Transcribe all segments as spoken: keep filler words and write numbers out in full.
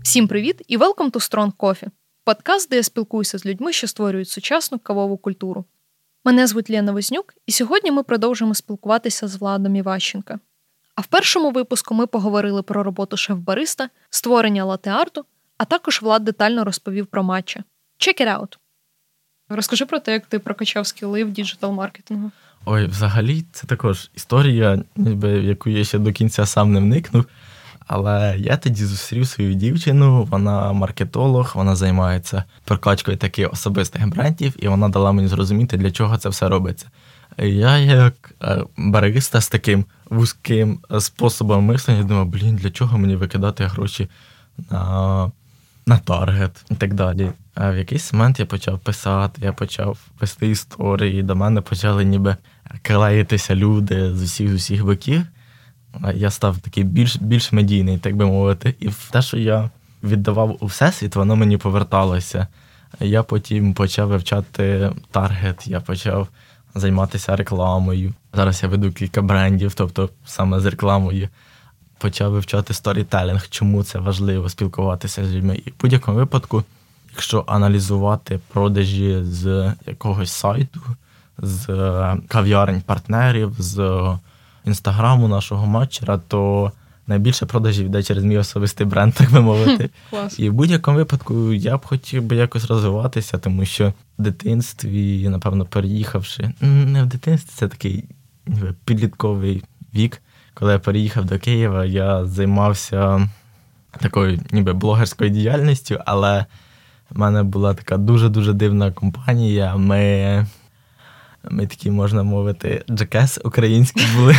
Всім привіт і welcome to Strong Coffee. Подкаст, де я спілкуюся з людьми, що створюють сучасну кавову культуру. Мене звуть Лена Вознюк, і сьогодні ми продовжимо спілкуватися з Владом Іващенко. А в першому випуску ми поговорили про роботу шеф-бариста, створення латте-арту, а також Влад детально розповів про матча. Check it out! Розкажи про те, як ти прокачав скіли в діджитал-маркетингу. Ой, взагалі, це також історія, ніби, в яку я ще до кінця сам не вникнув. Але я тоді зустрів свою дівчину, вона маркетолог, вона займається прокачкою таких особистих брендів, і вона дала мені зрозуміти, для чого це все робиться. Я як бариста з таким вузьким способом мислення думав, блін, для чого мені викидати гроші на, на таргет і так далі. А в якийсь момент я почав писати, я почав вести історії, до мене почали ніби клеїтися люди з усіх, з усіх боків. Я став такий більш, більш медійний, так би мовити. І те, що я віддавав у всесвіт, воно мені поверталося. Я потім почав вивчати таргет, я почав займатися рекламою. Зараз я веду кілька брендів, тобто саме з рекламою. Почав вивчати сторітелінг, чому це важливо спілкуватися з людьми. І в будь-якому випадку, якщо аналізувати продажі з якогось сайту, з кав'ярень партнерів, з інстаграму нашого матчера, то найбільше продажів йде через мій особистий бренд, так би мовити. Клас. І в будь-якому випадку я б хотів би якось розвиватися, тому що в дитинстві, напевно, переїхавши, не в дитинстві, це такий ніби підлітковий вік, коли я переїхав до Києва, я займався такою ніби блогерською діяльністю, але в мене була така дуже-дуже дивна компанія, ми... Ми такі, можна мовити, джекес українські були.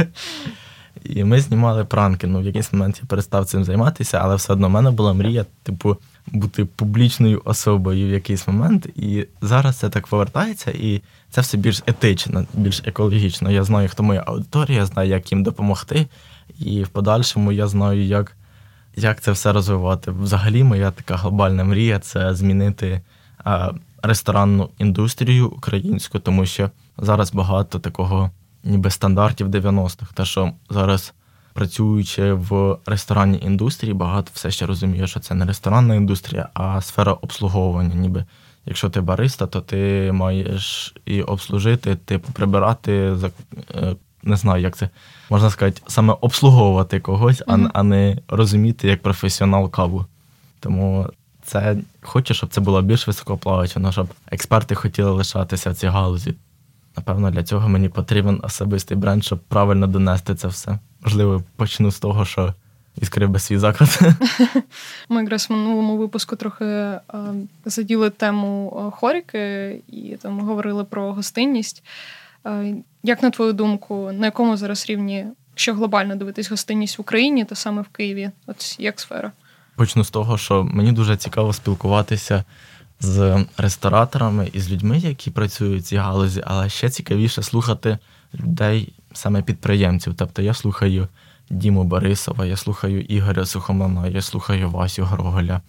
І ми знімали пранки. Ну, в якийсь момент я перестав цим займатися, але все одно в мене була мрія, типу, бути публічною особою в якийсь момент. І зараз це так повертається, і це все більш етично, більш екологічно. Я знаю, хто моя аудиторія, знаю, як їм допомогти. І в подальшому я знаю, як, як це все розвивати. Взагалі, моя така глобальна мрія – це змінити а, ресторанну індустрію українську, тому що зараз багато такого ніби стандартів дев'яностих. Те, що зараз, працюючи в ресторанній індустрії, багато все ще розуміє, що це не ресторанна індустрія, а сфера обслуговування. Ніби, якщо ти бариста, то ти маєш і обслужити, типу, прибирати, не знаю, як це можна сказати, саме обслуговувати когось, mm-hmm. а, а не розуміти як професіонал каву. Тому це хочу, щоб це було більш високооплачувано, щоб експерти хотіли лишатися в цій галузі. Напевно, для цього мені потрібен особистий бренд, щоб правильно донести це все. Можливо, почну з того, що відкрив би свій заклад. Ми якраз в минулому випуску трохи а, заділи тему хоріки і там говорили про гостинність. А, як, на твою думку, на якому зараз рівні, якщо глобально дивитись гостинність в Україні, то саме в Києві? От як сфера? Почну з того, що мені дуже цікаво спілкуватися з рестораторами і з людьми, які працюють в цій галузі, але ще цікавіше слухати людей, саме підприємців. Тобто я слухаю Діму Борисова, я слухаю Ігоря Сухомлина, я слухаю Васю Гроголя.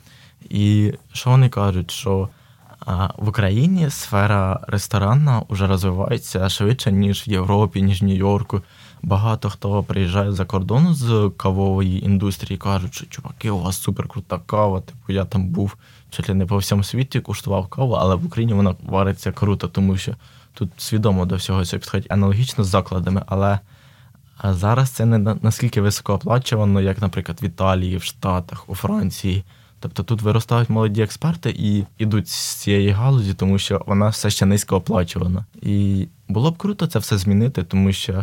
І що вони кажуть, що а, в Україні сфера ресторанна вже розвивається швидше, ніж в Європі, ніж в Нью-Йорку. Багато хто приїжджає за кордону з кавової індустрії, кажуть, що чуваки, у вас суперкрута кава, типу я там був, чуть ли не по всьому світі куштував каву, але в Україні вона вариться круто, тому що тут свідомо до всього цього підходить аналогічно з закладами, але зараз це не наскільки високооплачувано, як, наприклад, в Італії, в Штатах, у Франції. Тобто тут виростають молоді експерти і йдуть з цієї галузі, тому що вона все ще низькооплачувана. І було б круто це все змінити, тому що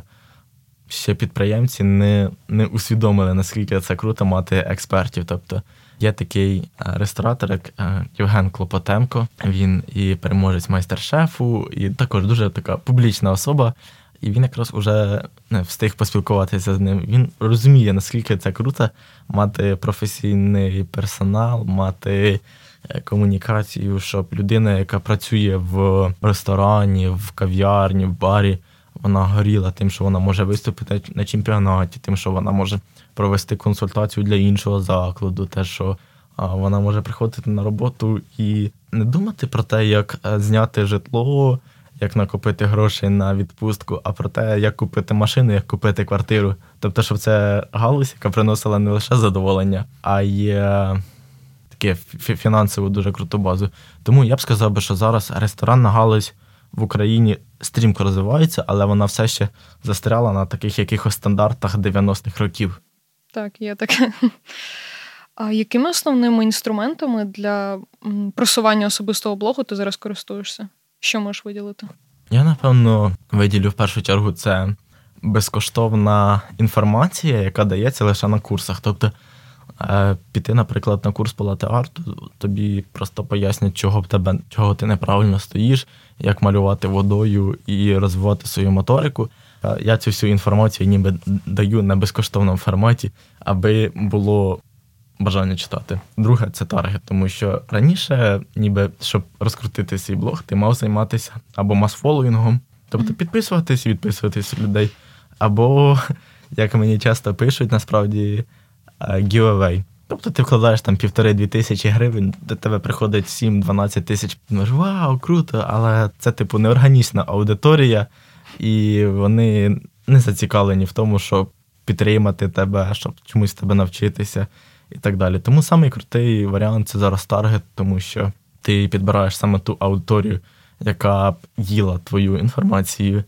ще підприємці не, не усвідомили, наскільки це круто мати експертів. Тобто є такий ресторатор, як Євген Клопотенко, він і переможець майстер-шефу, і також дуже така публічна особа. І він якраз уже не встиг поспілкуватися з ним. Він розуміє, наскільки це круто мати професійний персонал, мати комунікацію, щоб людина, яка працює в ресторані, в кав'ярні, в барі, вона горіла тим, що вона може виступити на чемпіонаті, тим, що вона може провести консультацію для іншого закладу, те, що вона може приходити на роботу і не думати про те, як зняти житло, як накопити грошей на відпустку, а про те, як купити машину, як купити квартиру. Тобто, щоб це галузь, яка приносила не лише задоволення, а й таке фінансово дуже круту базу. Тому я б сказав би, що зараз ресторанна галузь в Україні стрімко розвивається, але вона все ще застряла на таких якихось стандартах дев'яностих років. Так, є таке. А якими основними інструментами для просування особистого блогу ти зараз користуєшся? Що можеш виділити? Я, напевно, виділю в першу чергу це безкоштовна інформація, яка дається лише на курсах. Тобто піти, наприклад, на курс по лате-арту, тобі просто пояснять, чого в тебе, чого ти неправильно стоїш, як малювати водою і розвивати свою моторику. Я цю всю інформацію ніби даю на безкоштовному форматі, аби було бажання читати. Друге – це таргет, тому що раніше, ніби, щоб розкрутити свій блог, ти мав займатися або мас-фоловінгом, тобто підписуватись і відписуватись людей, або, як мені часто пишуть, насправді, giveaway. Тобто ти вкладаєш там півтори-дві тисячі гривень, до тебе приходить сім-дванадцять тисяч, думаєш, вау, круто, але це, типу, неорганічна аудиторія, і вони не зацікавлені в тому, щоб підтримати тебе, щоб чомусь тебе навчитися і так далі. Тому самий крутий варіант – це зараз таргет, тому що ти підбираєш саме ту аудиторію, яка б їла твою інформацію,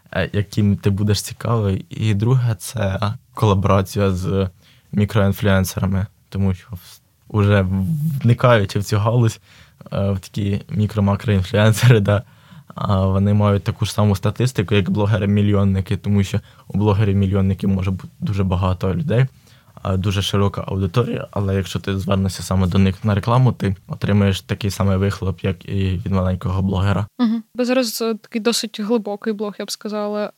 яким ти будеш цікавий. І друге – це колаборація з мікроінфлюенсерами, тому що вже вникаючи в цю галузь, в такі мікро-макроінфлюенсери, да, вони мають таку ж саму статистику, як блогери-мільйонники, тому що у блогерів-мільйонників може бути дуже багато людей, дуже широка аудиторія, але якщо ти звернешся саме до них на рекламу, ти отримаєш такий самий вихлоп, як і від маленького блогера. Угу. Бо зараз такий досить глибокий блог, я б сказала.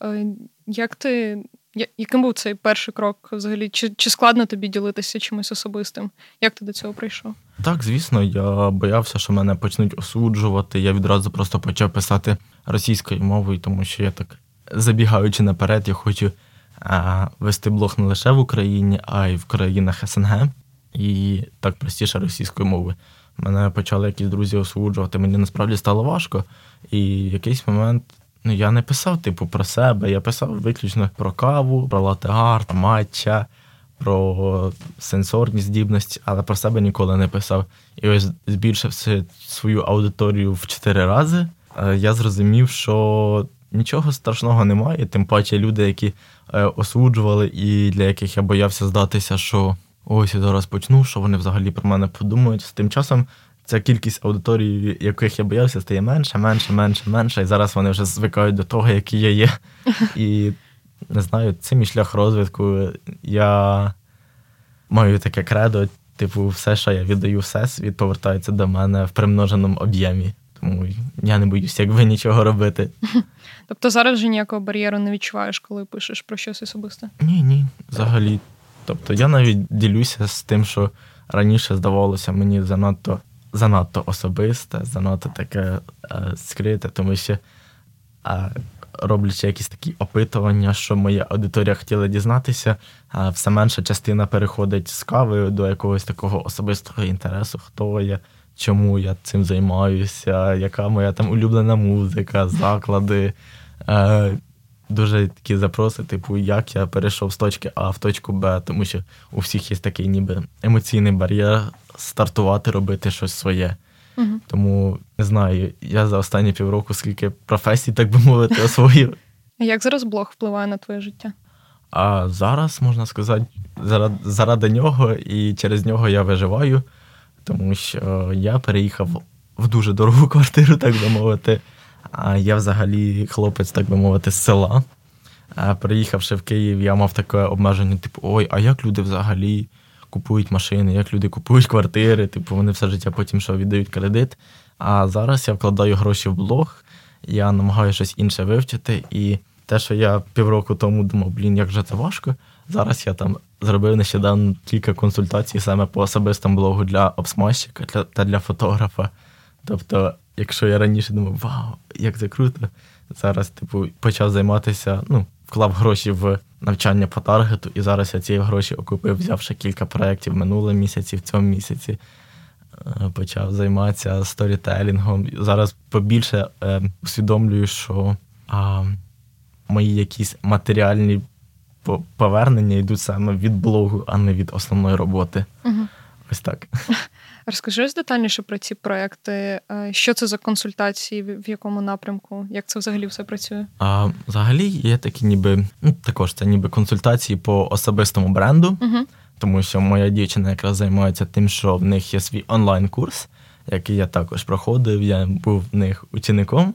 Як ти... Яким був цей перший крок взагалі? Чи, чи складно тобі ділитися чимось особистим? Як ти до цього прийшов? Так, звісно, я боявся, що мене почнуть осуджувати. Я відразу просто почав писати російською мовою, тому що я так, забігаючи наперед, я хочу а, вести блог не лише в Україні, а й в країнах ес ен ге. І так простіше російською мовою. Мене почали якісь друзі осуджувати, мені насправді стало важко. І в якийсь момент ну, я не писав, типу, про себе, я писав виключно про каву, про лате-арт, матча, про сенсорні здібності, але про себе ніколи не писав. І ось збільшивши свою аудиторію в чотири рази, я зрозумів, що нічого страшного немає, тим паче люди, які осуджували і для яких я боявся здатися, що ось я зараз почну, що вони взагалі про мене подумають. З тим часом ця кількість аудиторії, яких я боявся, стає менше, менше, менше, менше. І зараз вони вже звикають до того, який я є. І, не знаю, це мій шлях розвитку. Я маю таке кредо, типу, все, що я віддаю всесвіт, повертається до мене в примноженому об'ємі. Тому я не боюся, якби нічого робити. Тобто зараз вже ніякого бар'єру не відчуваєш, коли пишеш про щось особисте? Ні, ні, взагалі. Тобто я навіть ділюся з тим, що раніше здавалося мені занадто занадто особисте, занадто таке е, скрите, тому що е, роблячи якісь такі опитування, що моя аудиторія хотіла дізнатися, е, все менша частина переходить з кави до якогось такого особистого інтересу, хто я, чому я цим займаюся, яка моя там улюблена музика, заклади. Е, дуже такі запроси, типу, як я перейшов з точки А в точку Б, тому що у всіх є такий ніби емоційний бар'єр стартувати, робити щось своє. Угу. Тому, не знаю, я за останні півроку скільки професій, так би мовити, освоїв. А як зараз блог впливає на твоє життя? А зараз, можна сказати, заради, заради нього і через нього я виживаю, тому що я переїхав в дуже дорогу квартиру, так би мовити. А я взагалі хлопець, так би мовити, з села. А приїхавши в Київ, я мав таке обмеження, типу, ой, а як люди взагалі купують машини, як люди купують квартири, типу, вони все життя потім що віддають кредит. А зараз я вкладаю гроші в блог, я намагаюся щось інше вивчити, і те, що я півроку тому думав, блін, як же це важко, зараз я там зробив нещодавно кілька консультацій саме по особистому блогу для обсмажчика для, та для фотографа. Тобто, якщо я раніше думав, вау, як це круто, зараз, типу, почав займатися, ну, вклав гроші в навчання по таргету, і зараз я ці гроші окупив, взявши кілька проєктів минулого місяці, в цьому місяці. Почав займатися сторітелінгом. Зараз побільше е, усвідомлюю, що а, мої якісь матеріальні повернення йдуть саме від блогу, а не від основної роботи. Угу. Ось так. Розкажи детальніше про ці проекти. Що це за консультації, в якому напрямку? Як це взагалі все працює? А, взагалі є такі ніби, ну, також це ніби консультації по особистому бренду, угу. Тому що моя дівчина якраз займається тим, що в них є свій онлайн-курс, який я також проходив, я був в них учеником.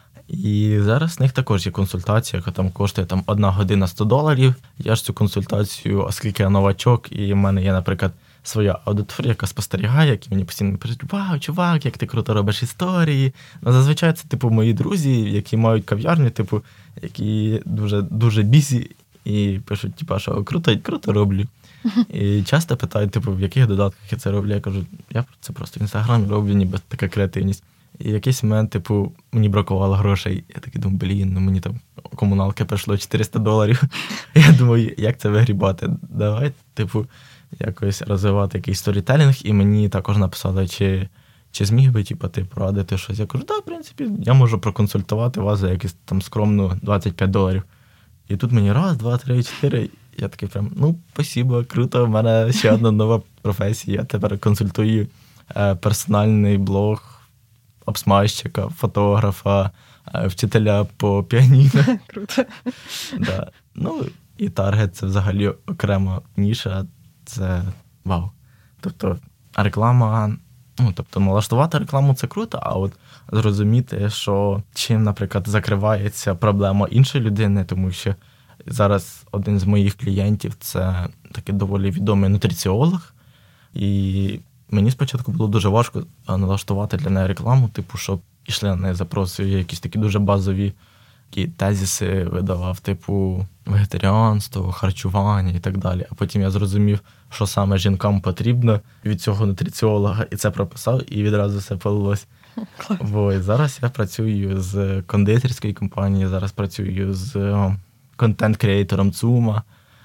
І зараз в них також є консультація, яка там коштує там, одна година сто доларів. Я ж цю консультацію, оскільки я новачок, і в мене є, наприклад, своя аудиторія, яка спостерігає, які мені постійно пишуть: вау, чувак, як ти круто робиш історії. Ну, зазвичай це, типу, мої друзі, які мають кав'ярню, типу, які дуже, дуже бізі, і пишуть, типу, що круто, круто роблю. І часто питають, типу, в яких додатках я це роблю. Я кажу, я це просто в Інстаграмі роблю, ніби така креативність. І в якийсь момент, типу, мені бракувало грошей. Я такий думаю, блін, ну мені там комуналки прийшло чотириста доларів. Я думаю, як це вигрібати? Давай, типу, якось розвивати якийсь сторітелінг. І мені також написали, чи, чи зміг би, типу, ти порадити щось. Я кажу, так, да, в принципі, я можу проконсультувати вас за якісь там скромну двадцять п'ять доларів. І тут мені раз, два, три, чотири. Я такий прям, ну, спасибо, круто, в мене ще одна нова професія. Я тепер консультую е, персональний блог обсмайщика, фотографа, е, вчителя по піаніно. Круто. Да. Ну, і таргет – це взагалі окрема ніша, це вау. Тобто реклама, ну, тобто налаштувати рекламу – це круто, а от зрозуміти, що чим, наприклад, закривається проблема іншої людини, тому що зараз один з моїх клієнтів – це такий доволі відомий нутриціолог, і мені спочатку було дуже важко налаштувати для неї рекламу, типу, щоб ішли на неї запроси, якісь такі дуже базові такі тезиси видавав, типу вегетаріанство, харчування і так далі. А потім я зрозумів, що саме жінкам потрібно від цього нутриціолога, і це прописав, і відразу все полилось. Бо і зараз я працюю з кондитерською компанією, зараз працюю з контент-креатором Цума,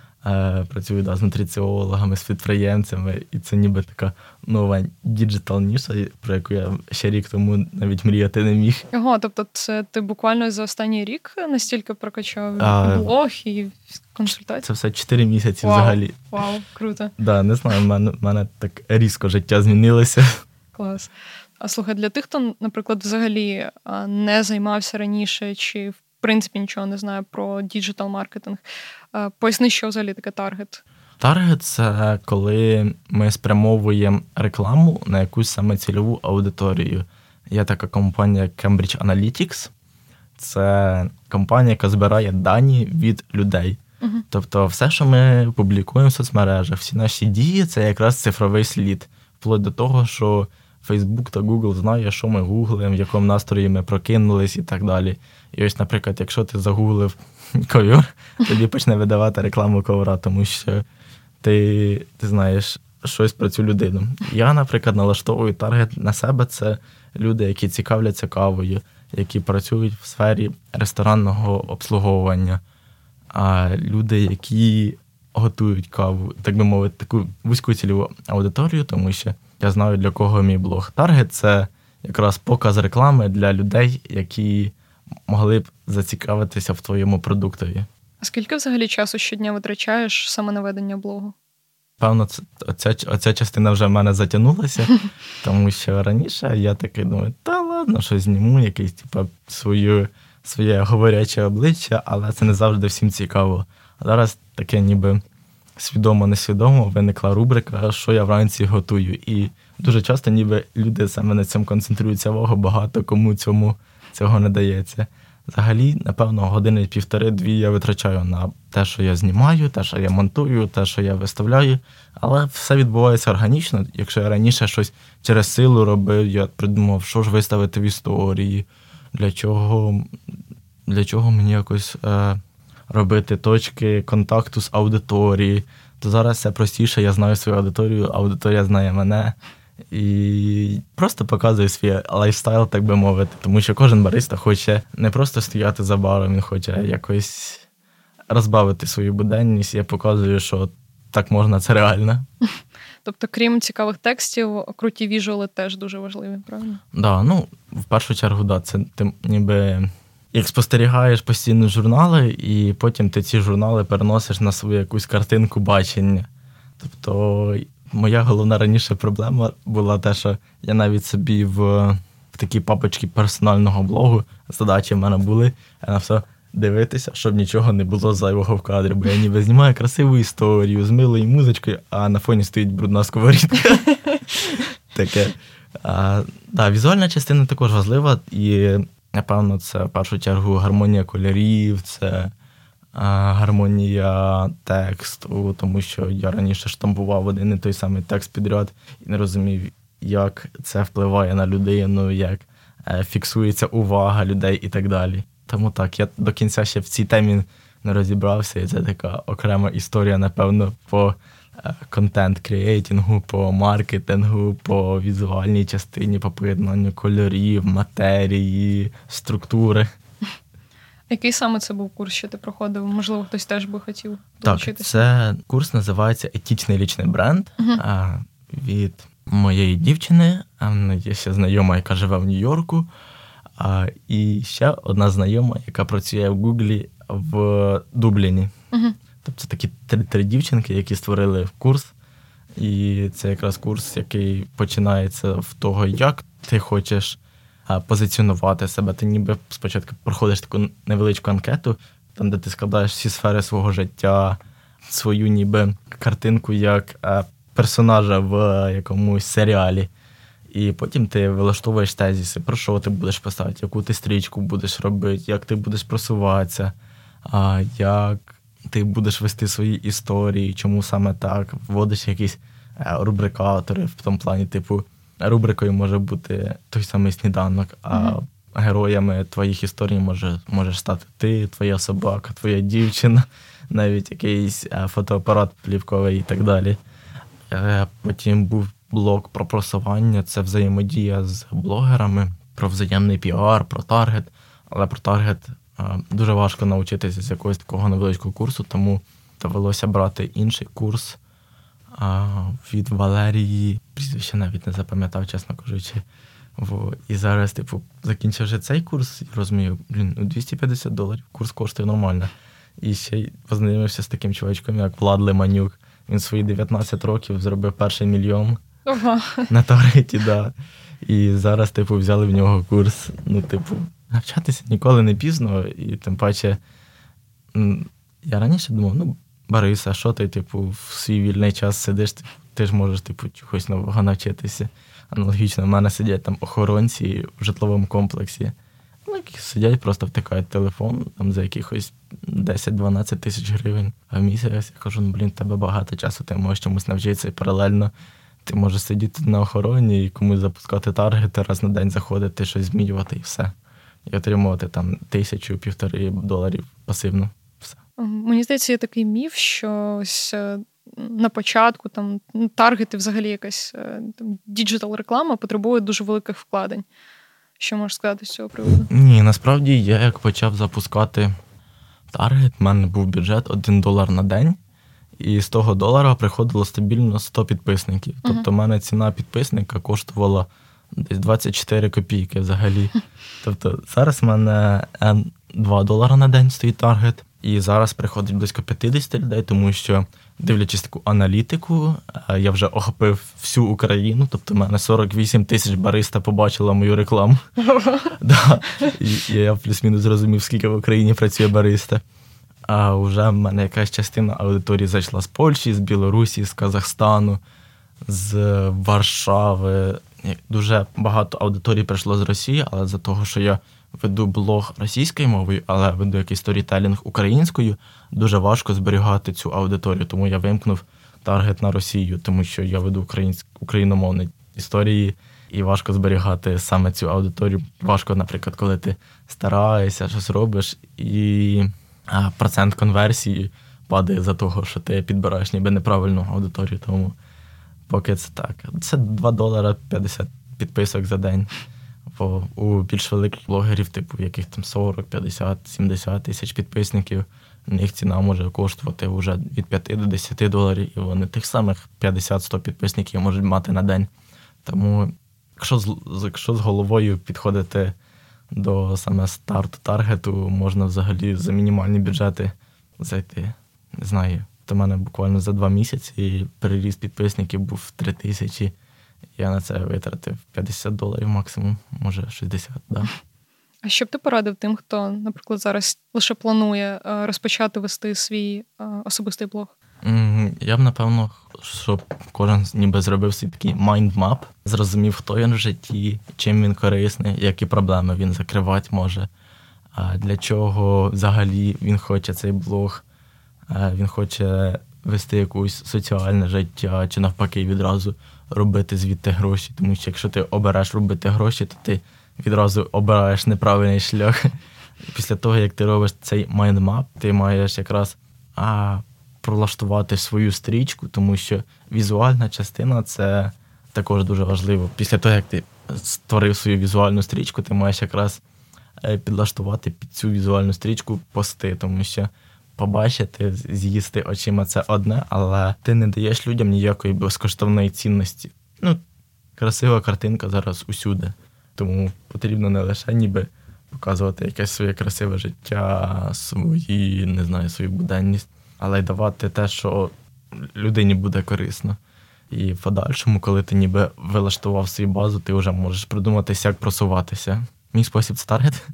працюю да, з нутриціологами, з підприємцями, і це ніби така нова діджитал-ніша, про яку я ще рік тому навіть мріяти не міг. Ого, тобто це ти буквально за останній рік настільки прокачав а, блог і консультації? Це все чотири місяці Вау. Взагалі. Вау, круто. Да, не знаю, в мене, в мене так різко життя змінилося. Клас. А слухай, для тих, хто, наприклад, взагалі не займався раніше чи в принципі нічого не знає про діджитал-маркетинг, поясни, що взагалі таке таргет? Таргет – це коли ми спрямовуємо рекламу на якусь саме цільову аудиторію. Є така компанія Cambridge Analytics. Це компанія, яка збирає дані від людей. Угу. Тобто все, що ми публікуємо в соцмережах, всі наші дії – це якраз цифровий слід. Вплоть до того, що Facebook та Google знає, що ми гуглимо, в якому настрої ми прокинулись і так далі. І ось, наприклад, якщо ти загуглив ковер, тобі почне видавати рекламу ковра, тому що ти, ти знаєш щось про цю людину. Я, наприклад, налаштовую таргет на себе. Це люди, які цікавляться кавою, які працюють в сфері ресторанного обслуговування, а люди, які готують каву, так би мовити, таку вузьку цільову аудиторію, тому що я знаю, для кого мій блог. Таргет – це якраз показ реклами для людей, які могли б зацікавитися в твоєму продуктові. А скільки взагалі часу щодня витрачаєш саме на ведення блогу? Певно, це, оця, оця частина вже в мене затягнулася, тому що раніше я такий думаю, та ладно, щось зніму, якесь типу, свою, своє говоряче обличчя, але це не завжди всім цікаво. А зараз таке ніби свідомо-несвідомо виникла рубрика, що я вранці готую. І дуже часто ніби люди саме на цьому концентруються увагу, багато кому цьому цього не дається. Взагалі, напевно, години півтори-дві я витрачаю на те, що я знімаю, те, що я монтую, те, що я виставляю. Але все відбувається органічно. Якщо я раніше щось через силу робив, я придумав, що ж виставити в історії, для чого, для чого мені якось е, робити точки контакту з аудиторією. То зараз все простіше, я знаю свою аудиторію, аудиторія знає мене. І просто показує свій лайфстайл, так би мовити. Тому що кожен бариста хоче не просто стояти за баром, він хоче якось розбавити свою буденність. Я показую, що так можна, це реально. Тобто, крім цікавих текстів, круті віжуали теж дуже важливі, правильно? Так, да, ну, в першу чергу, да, це ти ніби як спостерігаєш постійно журнали, і потім ти ці журнали переносиш на свою якусь картинку бачення. Тобто, моя головна раніше проблема була те, що я навіть собі в, в такій папочці персонального блогу задачі в мене були, я на все дивитися, щоб нічого не було зайвого в кадрі, бо я ніби знімаю красиву історію з милою музичкою, а на фоні стоїть брудна сковорідка. Таке. А, да, візуальна частина також важлива, і, напевно, це в першу чергу гармонія кольорів, це а, гармонія тексту, тому що я раніше штампував один і той самий текст підряд і не розумів, як це впливає на людину, як е, фіксується увага людей і так далі. Тому так, я до кінця ще в цій темі не розібрався, і це така окрема історія, напевно, по контент-креатингу, по маркетингу, по візуальній частині, по поєднанню кольорів, матерії, структури. Який саме це був курс, що ти проходив? Можливо, хтось теж би хотів долучитися? Так, це курс називається «Етичний лічний бренд» uh-huh. від моєї дівчини. Вона є ще знайома, яка живе в Нью-Йорку. І ще одна знайома, яка працює в Гуглі в Дубліні. Uh-huh. Тобто це такі три, три дівчинки, які створили курс. І це якраз курс, який починається в того, як ти хочеш позиціонувати себе. Ти ніби спочатку проходиш таку невеличку анкету, там, де ти складаєш всі сфери свого життя, свою ніби картинку як персонажа в якомусь серіалі. І потім ти вилаштовуєш тезіси, про що ти будеш писати, яку ти стрічку будеш робити, як ти будеш просуватися, як ти будеш вести свої історії, чому саме так, вводиш якісь рубрикатори, в тому плані, типу, рубрикою може бути той самий сніданок, а mm-hmm. героями твоїх історій може, можеш стати ти, твоя собака, твоя дівчина, навіть якийсь фотоапарат плівковий і так далі. Потім був блок про просування, це взаємодія з блогерами, про взаємний піар, про таргет, але про таргет дуже важко навчитися з якогось такого невеличкого курсу, тому довелося брати інший курс а, від Валерії. Прізвище навіть не запам'ятав, чесно кажучи. Во. І зараз, типу, закінчивши цей курс, розумію, блін, ну двісті п'ятдесят доларів, курс коштує нормально. І ще й познайомився з таким чувачком, як Влад Лиманюк. Він свої дев'ятнадцять років зробив перший мільйон ага. на таргеті, да. І зараз, типу, взяли в нього курс, ну, типу, навчатися ніколи не пізно, і тим паче, я раніше думав, ну, Бориса, що ти, типу, в свій вільний час сидиш, ти ж можеш, типу, чогось нового навчитися. Аналогічно, в мене сидять там охоронці в житловому комплексі, ну, які сидять, просто втикають телефон, там, за якихось десять-дванадцять тисяч гривень в місяць. Я кажу, ну, блін, в тебе багато часу, ти можеш чомусь навчитися, і паралельно ти можеш сидіти на охороні і комусь запускати таргети, раз на день заходити, щось змінювати і все. І отримувати там тисячу, півтори доларів пасивно. Все. Мені здається, є такий міф, що ось на початку там таргети, взагалі якась там діджитал-реклама потребує дуже великих вкладень. Що можеш сказати з цього приводу? Ні, насправді я як почав запускати таргет, в мене був бюджет один долар на день, і з того долара приходило стабільно сто підписників. Uh-huh. Тобто в мене ціна підписника коштувала десь двадцять чотири копійки взагалі. Тобто зараз в мене два долари на день стоїть таргет, і зараз приходить близько п'ятдесят людей, тому що, дивлячись таку аналітику, я вже охопив всю Україну, тобто в мене сорок вісім тисяч бариста побачила мою рекламу. да. І я плюс-мінус зрозумів, скільки в Україні працює бариста. А вже в мене якась частина аудиторії зайшла з Польщі, з Білорусі, з Казахстану, з Варшави. Дуже багато аудиторій прийшло з Росії, але за того, що я веду блог російською мовою, але веду якийсь сторітелінг українською, дуже важко зберігати цю аудиторію. Тому я вимкнув таргет на Росію, тому що я веду українськ... україномовні історії, і важко зберігати саме цю аудиторію. Важко, наприклад, коли ти стараєшся, щось робиш, і процент конверсії падає за того, що ти підбираєш ніби неправильну аудиторію. Тому поки це так. Це два долари п'ятдесят підписок за день. Бо у більш великих блогерів, типу, в яких там сорок, п'ятдесят, сімдесят тисяч підписників, у них ціна може коштувати вже від п'яти до десяти доларів, і вони тих самих п'ятдесят-сто підписників можуть мати на день. Тому, якщо з, якщо з головою підходити до саме старту таргету, можна взагалі за мінімальні бюджети зайти, не знаю, То в мене буквально за два місяці переріст підписників був в три тисячі. Я на це витратив п'ятдесят доларів максимум, може шістдесят, да. А що б ти порадив тим, хто, наприклад, зараз лише планує розпочати вести свій особистий блог? Я б, напевно, щоб кожен ніби зробив свій такий mind-map, зрозумів, хто він в житті, чим він корисний, які проблеми він закривати може, для чого взагалі він хоче цей блог, він хоче вести якусь соціальне життя, чи навпаки відразу робити звідти гроші. Тому що якщо ти обереш робити гроші, то ти відразу обираєш неправильний шлях. Після того, як ти робиш цей майндмап, ти маєш якраз а, пролаштувати свою стрічку, тому що візуальна частина – це також дуже важливо. Після того, як ти створив свою візуальну стрічку, ти маєш якраз підлаштувати під цю візуальну стрічку пости, тому що побачити, з'їсти очима – це одне, але ти не даєш людям ніякої безкоштовної цінності. Ну, красива картинка зараз усюди. Тому потрібно не лише ніби показувати якесь своє красиве життя, свої, не знаю, свою буденність, але й давати те, що людині буде корисно. І в подальшому, коли ти ніби вилаштував свою базу, ти вже можеш придумати, як просуватися. Мій спосіб – це таргет.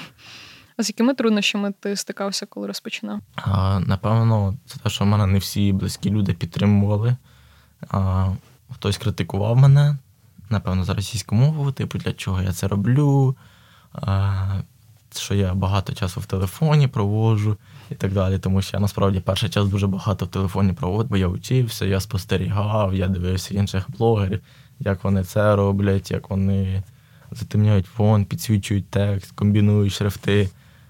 А з якими труднощами ти стикався, коли розпочинав? А, напевно, це те, що в мене не всі близькі люди підтримували. А, хтось критикував мене, напевно, за російську мову, типу, для чого я це роблю, а, що я багато часу в телефоні проводжу і так далі. Тому що я, насправді, перший час дуже багато в телефоні проводив, бо я вчився, я спостерігав, я дивився інших блогерів, як вони це роблять, як вони затемняють фон, підсвічують текст, комбінують шрифти.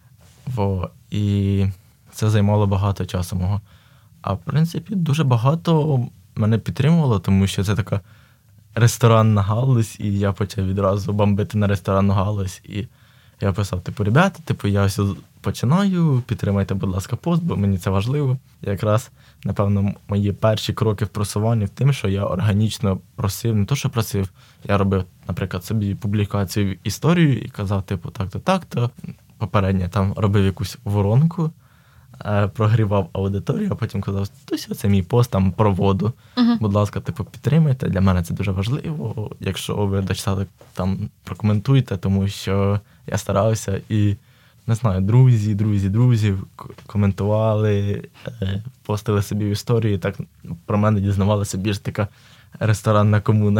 Во. І це займало багато часу мого. А в принципі, дуже багато мене підтримувало, тому що це така ресторанна галузь, і я почав відразу бомбити на ресторанну галузь. І я писав, типу, ребята, типу, я ось починаю, підтримайте, будь ласка, пост, бо мені це важливо. І якраз, напевно, мої перші кроки в просуванні в тим, що я органічно просив, не то, що просив, я робив, наприклад, собі публікацію в історію і казав, типу, так-то, так-то. Попередньо там робив якусь воронку, прогрівав аудиторію, а потім казав, ось це мій пост там про воду. Uh-huh. Будь ласка, типу, підтримайте, для мене це дуже важливо. Якщо ви дочитали, там прокоментуйте, тому що я старався і, не знаю, друзі, друзі, друзі коментували, постили собі в історії, так про мене дізнавалася більш така ресторанна комуна.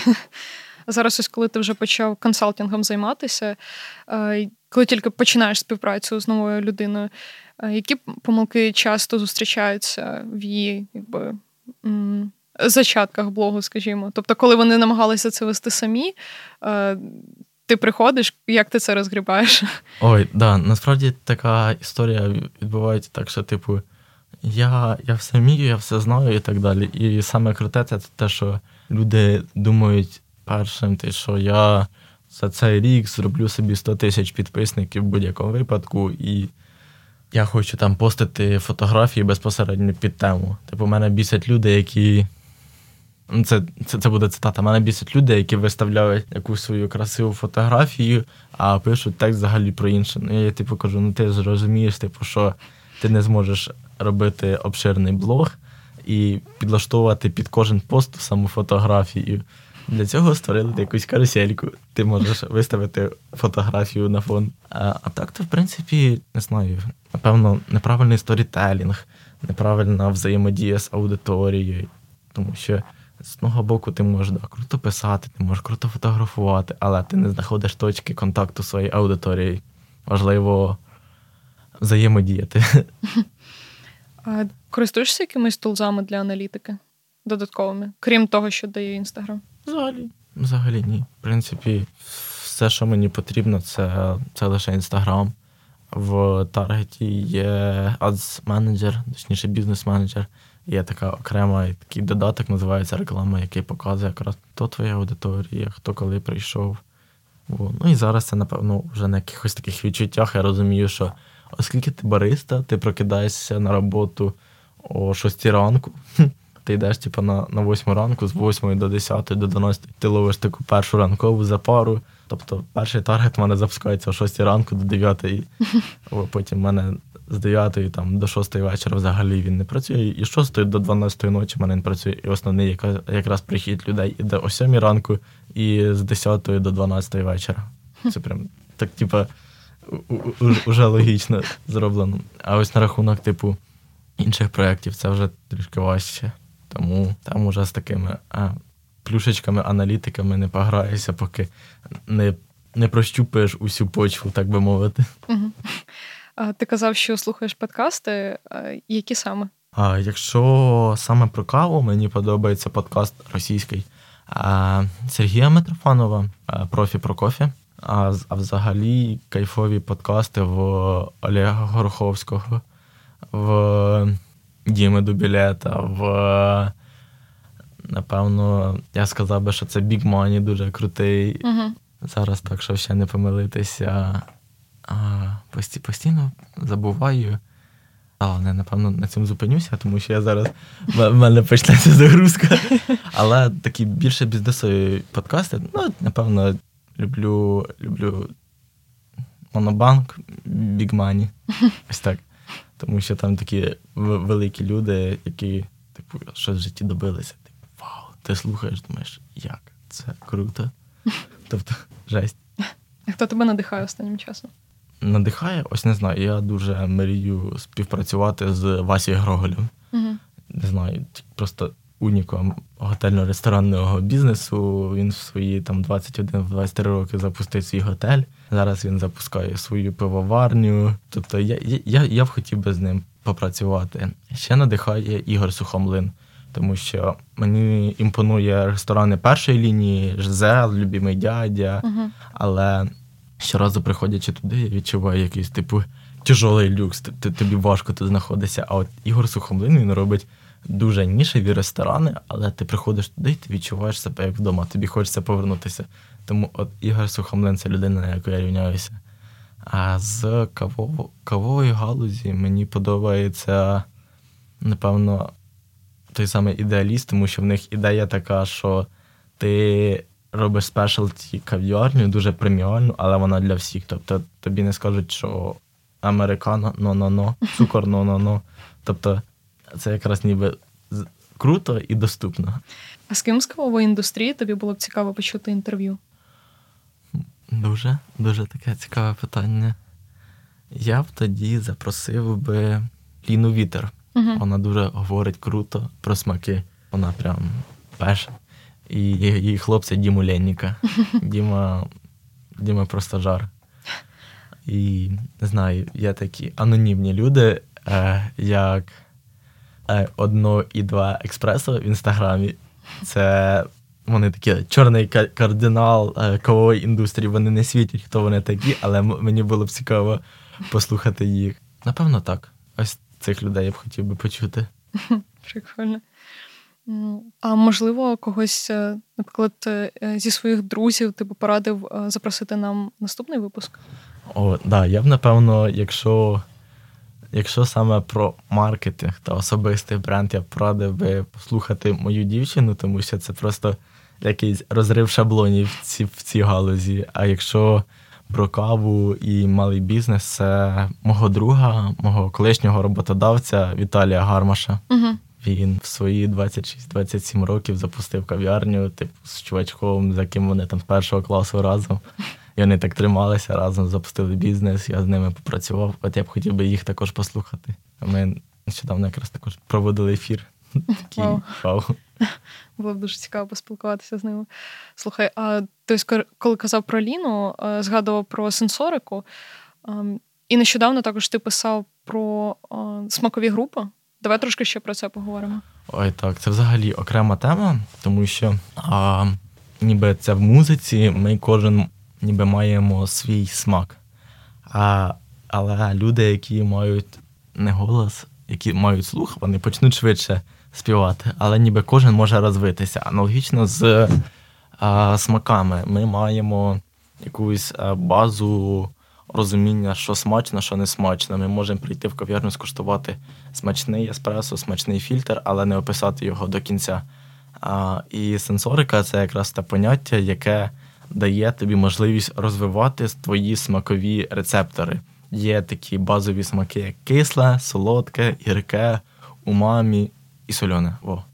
Зараз ось коли ти вже почав консалтингом займатися, коли тільки починаєш співпрацю з новою людиною, які помилки часто зустрічаються в її, якби, зачатках блогу, скажімо? Тобто, коли вони намагалися це вести самі, ти приходиш, як ти це розгрібаєш? Ой, да, насправді така історія відбувається так, що, типу, я, я все вмію, я все знаю і так далі. І саме круте це те, що люди думають першим, те, що я за цей рік зроблю собі сто тисяч підписників в будь-якому випадку, і я хочу там постити фотографії безпосередньо під тему. Типу, мене бісять люди, які... Це, це, це буде цитата. Мене бісять люди, які виставляють якусь свою красиву фотографію, а пишуть текст взагалі про інше. Ну, я типу кажу, ну ти ж розумієш, типу, що ти не зможеш робити обширний блог і підлаштовувати під кожен пост саму фотографію. Для цього створили якусь карусельку. Ти можеш виставити фотографію на фон. А, а так, то, в принципі, не знаю, напевно, неправильний сторітелінг, неправильна взаємодія з аудиторією. Тому що з одного боку ти можеш да, круто писати, ти можеш круто фотографувати, але ти не знаходиш точки контакту з своєю аудиторією. Важливо взаємодіяти. А користуєшся якимись тулзами для аналітики додатковими, крім того, що дає Інстаграм? Взагалі. Взагалі ні. В принципі, все, що мені потрібно, це, це лише Інстаграм. В таргеті є Ads-менеджер, точніше бізнес-менеджер. Є така окрема такий додаток, називається реклама, який показує якраз, хто твоя аудиторія, хто коли прийшов. О, ну і зараз це, напевно, вже на якихось таких відчуттях я розумію, що оскільки ти бариста, ти прокидаєшся на роботу о шостій ранку, ти йдеш типу, на, на восьму ранку, з восьмої до десятої, до дванадцятої, ти ловиш таку першу ранкову запару. Тобто перший таргет в мене запускається о шостій ранку до дев'ятої, потім в мене з дев'ятої там, до шостої вечора взагалі він не працює, і з шостої до дванадцятої ночі в мене не працює. І основний яка, якраз прихід людей іде о сьомій ранку і з десятої до дванадцятої вечора. Це прям так, типа, уже логічно зроблено. А ось на рахунок, типу, інших проєктів це вже трішки важче. Тому там уже з такими а, плюшечками, аналітиками не пограєшся, поки не, не прощупаєш усю почву, так би мовити. Угу. А ти казав, що слухаєш подкасти. Які саме? А якщо саме про каву, мені подобається подкаст російський а, Сергія Митрофанова, а, «Профі про кофі». А, а взагалі кайфові подкасти в Олега Гороховського, в Діми Дубілета, в, напевно, я сказав би, що це Big Money, дуже крутий. Угу. Зараз так, щоб ще не помилитися. А, пості, постійно забуваю. Але, напевно, на цьому зупинюся, тому що я зараз, в мене почнеться загрузка. Але такі більше бізнесові подкасти, ну, напевно, люблю, люблю Монобанк, Big Money. Ось так. Тому що там такі великі люди, які, типу, щось в житті добилися. Типу, вау, ти слухаєш, думаєш, як? Це круто. Тобто, жесть. А хто тебе надихає останнім часом? Надихає? Ось не знаю. Я дуже мрію співпрацювати з Васею Гроголем. Угу. Не знаю, просто унікум готельно-ресторанного бізнесу. Він в свої там двадцять один двадцять три роки запустив свій готель. Зараз він запускає свою пивоварню. Тобто я, я, я б хотів би з ним попрацювати. Ще надихає Ігор Сухомлин, тому що мені імпонує ресторани першої лінії, Жизел, Любимий дядя, угу. але щоразу приходячи туди, я відчуваю якийсь, типу, тяжолий люкс, тобі важко тут знаходитися. А от Ігор Сухомлин, він робить дуже нішеві ресторани, але ти приходиш туди і ти відчуваєш себе як вдома, тобі хочеться повернутися. Тому от Ігор Сухомлин – це людина, на яку я рівняюся. А з кавово, кавової галузі мені подобається, напевно, той самий ідеаліст, тому що в них ідея така, що ти робиш спешалті кав'ярню, дуже преміальну, але вона для всіх. Тобто тобі не скажуть, що американо, но-но-но, цукор, но-но-но. Тобто це якраз ніби круто і доступно. А з ким з кавової індустрії тобі було б цікаво почути інтерв'ю? Дуже, дуже таке цікаве питання. Я б тоді запросив би Ліну Вітер. Угу. Вона дуже говорить круто про смаки. Вона прям пеше. І її хлопця Діму Ленніка. Діма, Діма просто жар. І, не знаю, є такі анонімні люди, е, як е, одно і два експресо в Інстаграмі. Це вони такі чорний кардинал е, кавової індустрії. Вони не світять, хто вони такі, але м- мені було б цікаво послухати їх. Напевно, так. Ось цих людей я б хотів би почути. Прикольно. А можливо, когось, наприклад, зі своїх друзів ти б порадив запросити нам наступний випуск? О, да, я б, напевно, якщо, якщо саме про маркетинг та особистий бренд, я б порадив би послухати мою дівчину, тому що це просто якийсь розрив шаблонів в цій, в цій галузі. А якщо про каву і малий бізнес, це мого друга, мого колишнього роботодавця Віталія Гармаша. Угу. Він в свої двадцять шість двадцять сім років запустив кав'ярню, типу, з чувачком, за ким вони там з першого класу разом. І вони так трималися разом, запустили бізнес, я з ними попрацював. От я б хотів би їх також послухати. Ми нещодавно якраз також проводили ефір. Такий вау. Було б дуже цікаво поспілкуватися з ними. Слухай, а ти, коли казав про Ліну, згадував про сенсорику. І нещодавно також ти писав про смакові групи. Давай трошки ще про це поговоримо. Ой, так, це взагалі окрема тема, тому що а, ніби це в музиці, ми кожен ніби маємо свій смак. А, але люди, які мають не голос, які мають слух, вони почнуть швидше співати. Але ніби кожен може розвитися. Аналогічно з а, смаками. Ми маємо якусь а, базу розуміння, що смачно, що не смачно. Ми можемо прийти в кав'ярню, скуштувати смачний еспресо, смачний фільтр, але не описати його до кінця. А, і сенсорика – це якраз те поняття, яке дає тобі можливість розвивати твої смакові рецептори. є такі базові смаки, як кисле, солодке, гірке, умамі і солене. Во.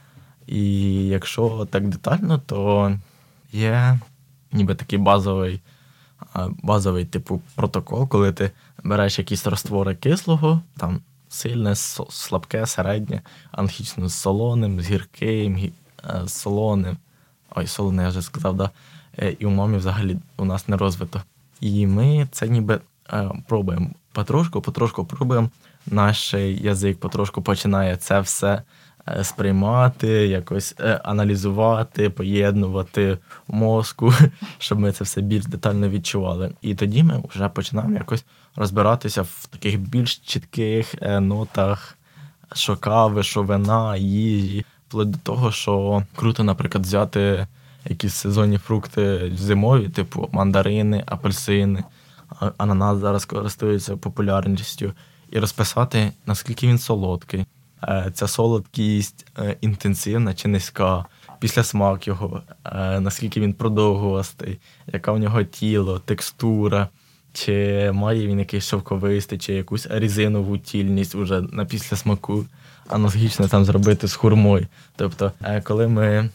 І якщо так детально, то є ніби такий базовий, базовий типу протокол, коли ти береш якісь роствори кислого, там сильне, слабке, середнє, аналогічно з солоним, з гірким, з солоним. Ой, солоне, я вже сказав, да. І умамі взагалі у нас не розвито. І ми це ніби пробуємо потрошку, потрошку пробуємо. Наш язик потрошку починає це все сприймати, якось аналізувати, поєднувати в мозку, щоб ми це все більш детально відчували. І тоді ми вже починаємо якось розбиратися в таких більш чітких нотах, що кави, що вина, їжі. Вплоть до того, що круто, наприклад, взяти якісь сезонні фрукти зимові, типу мандарини, апельсини, ананас зараз користується популярністю, і розписати, наскільки він солодкий. Ця солодкість інтенсивна чи низька, післясмак його, наскільки він продовгувастий, яка в нього тіло, текстура, чи має він якийсь шовковистий, чи якусь резинову тільність уже на післясмаку, аналогічно там зробити з хурмою. Тобто, коли ми,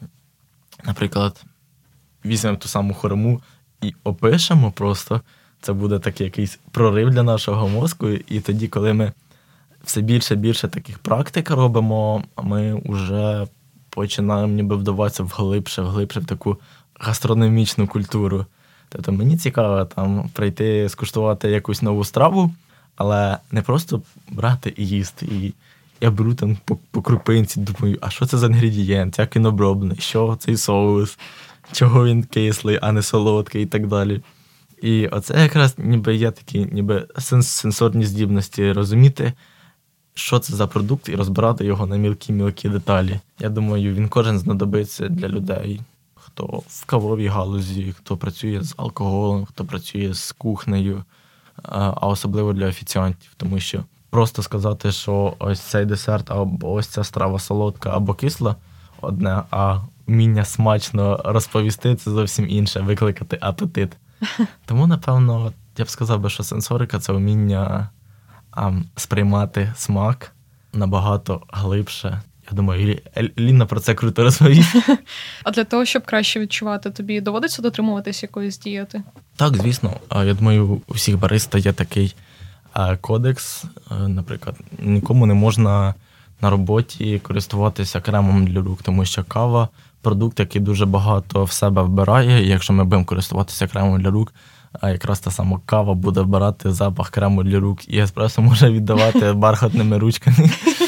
наприклад, візьмемо ту саму хурму і опишемо просто, це буде такий якийсь прорив для нашого мозку, і тоді, коли ми все більше і більше таких практик робимо, ми вже починаємо ніби вдаватися вглибше, вглибше в таку гастрономічну культуру. Тобто мені цікаво там прийти, скуштувати якусь нову страву, але не просто брати і їсти. І я беру там по, по крупинці, думаю, а що це за інгредієнт, як він оброблений, що цей соус, чого він кислий, а не солодкий і так далі. І оце якраз ніби є такі ніби сенсорні здібності розуміти, що це за продукт, і розбирати його на мілкі-мілкі деталі. Я думаю, він кожен знадобиться для людей, хто в кавовій галузі, хто працює з алкоголем, хто працює з кухнею, а особливо для офіціантів, тому що просто сказати, що ось цей десерт, або ось ця страва солодка або кисла одне, а вміння смачно розповісти – це зовсім інше, викликати апетит. Тому, напевно, я б сказав би, що сенсорика – це вміння а, сприймати смак набагато глибше. Я думаю, Ліна про це круто розповість. А для того, щоб краще відчувати, тобі доводиться дотримуватись якоїсь дієти? Так, звісно. Я думаю, у всіх бариста є такий кодекс. Наприклад, нікому не можна на роботі користуватися кремом для рук, тому що кава – продукт, який дуже багато в себе вбирає. І якщо ми будемо користуватися кремом для рук, якраз та сама кава буде вбирати запах крему для рук, і еспресо може віддавати бархатними ручками.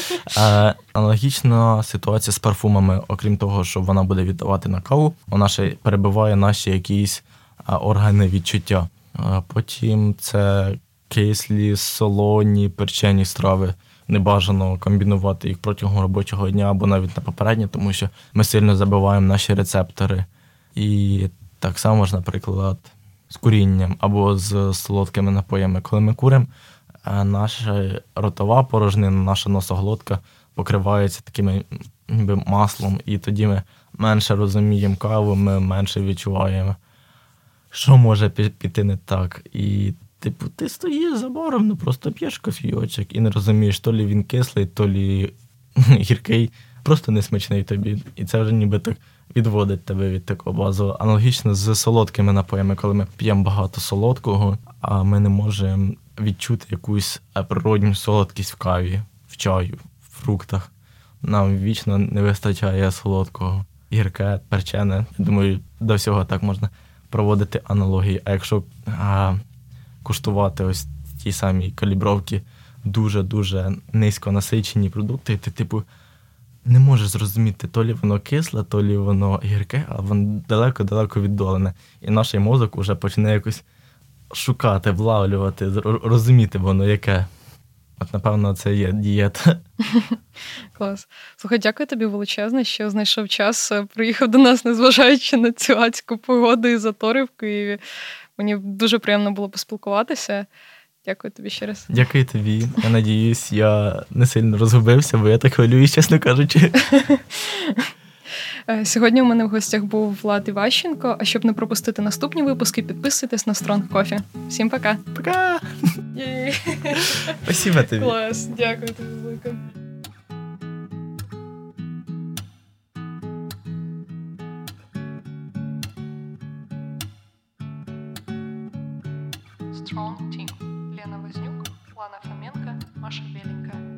Аналогічна ситуація з парфумами, окрім того, що вона буде віддавати на каву, вона ще перебиває наші якісь органи відчуття. Потім це кислі, солоні, перчені страви. Не бажано комбінувати їх протягом робочого дня або навіть на попереднє, тому що ми сильно забиваємо наші рецептори. І так само ж, наприклад, з курінням або з солодкими напоями. Коли ми куримо, наша ротова порожнина, наша носоглотка покривається таким ніби маслом, і тоді ми менше розуміємо каву, ми менше відчуваємо, що може піти не так. І типу, ти стоїш за баром, ну просто п'єш кофійочок і не розумієш, то лі він кислий, то лі гіркий, просто несмачний тобі. І це вже ніби так відводить тебе від такого базового. Аналогічно з солодкими напоями, коли ми п'ємо багато солодкого, а ми не можемо відчути якусь природню солодкість в каві, в чаю, в фруктах. Нам вічно не вистачає солодкого. Гірке, перчене. Я думаю, до всього так можна проводити аналогії. А якщо а, куштувати ось ті самі калібровки, дуже-дуже низько насичені продукти, ти, типу, не можеш зрозуміти, то лі воно кисле, то лі воно гірке, а воно далеко-далеко віддалене. І наш мозок вже почне якось шукати, влавлювати, розуміти воно яке. От, напевно, це є дієта. Клас. Слухай, дякую тобі величезне, що знайшов час, приїхав до нас, незважаючи на цю адську погоду і затори в Києві. Мені дуже приємно було поспілкуватися. Дякую тобі ще раз. Дякую тобі. Я надіюсь, я не сильно розгубився, бо я так хвилююсь, чесно кажучи. Сьогодні у мене в гостях був Влад Іващенко. А щоб не пропустити наступні випуски, підписуйтесь на Strong Coffee. Всім пока! Пока! Спасибо тобі. Клас, дякую тобі велике. Strong Team. Лена Вознюк, Лана Фоменко, Маша Беленькая.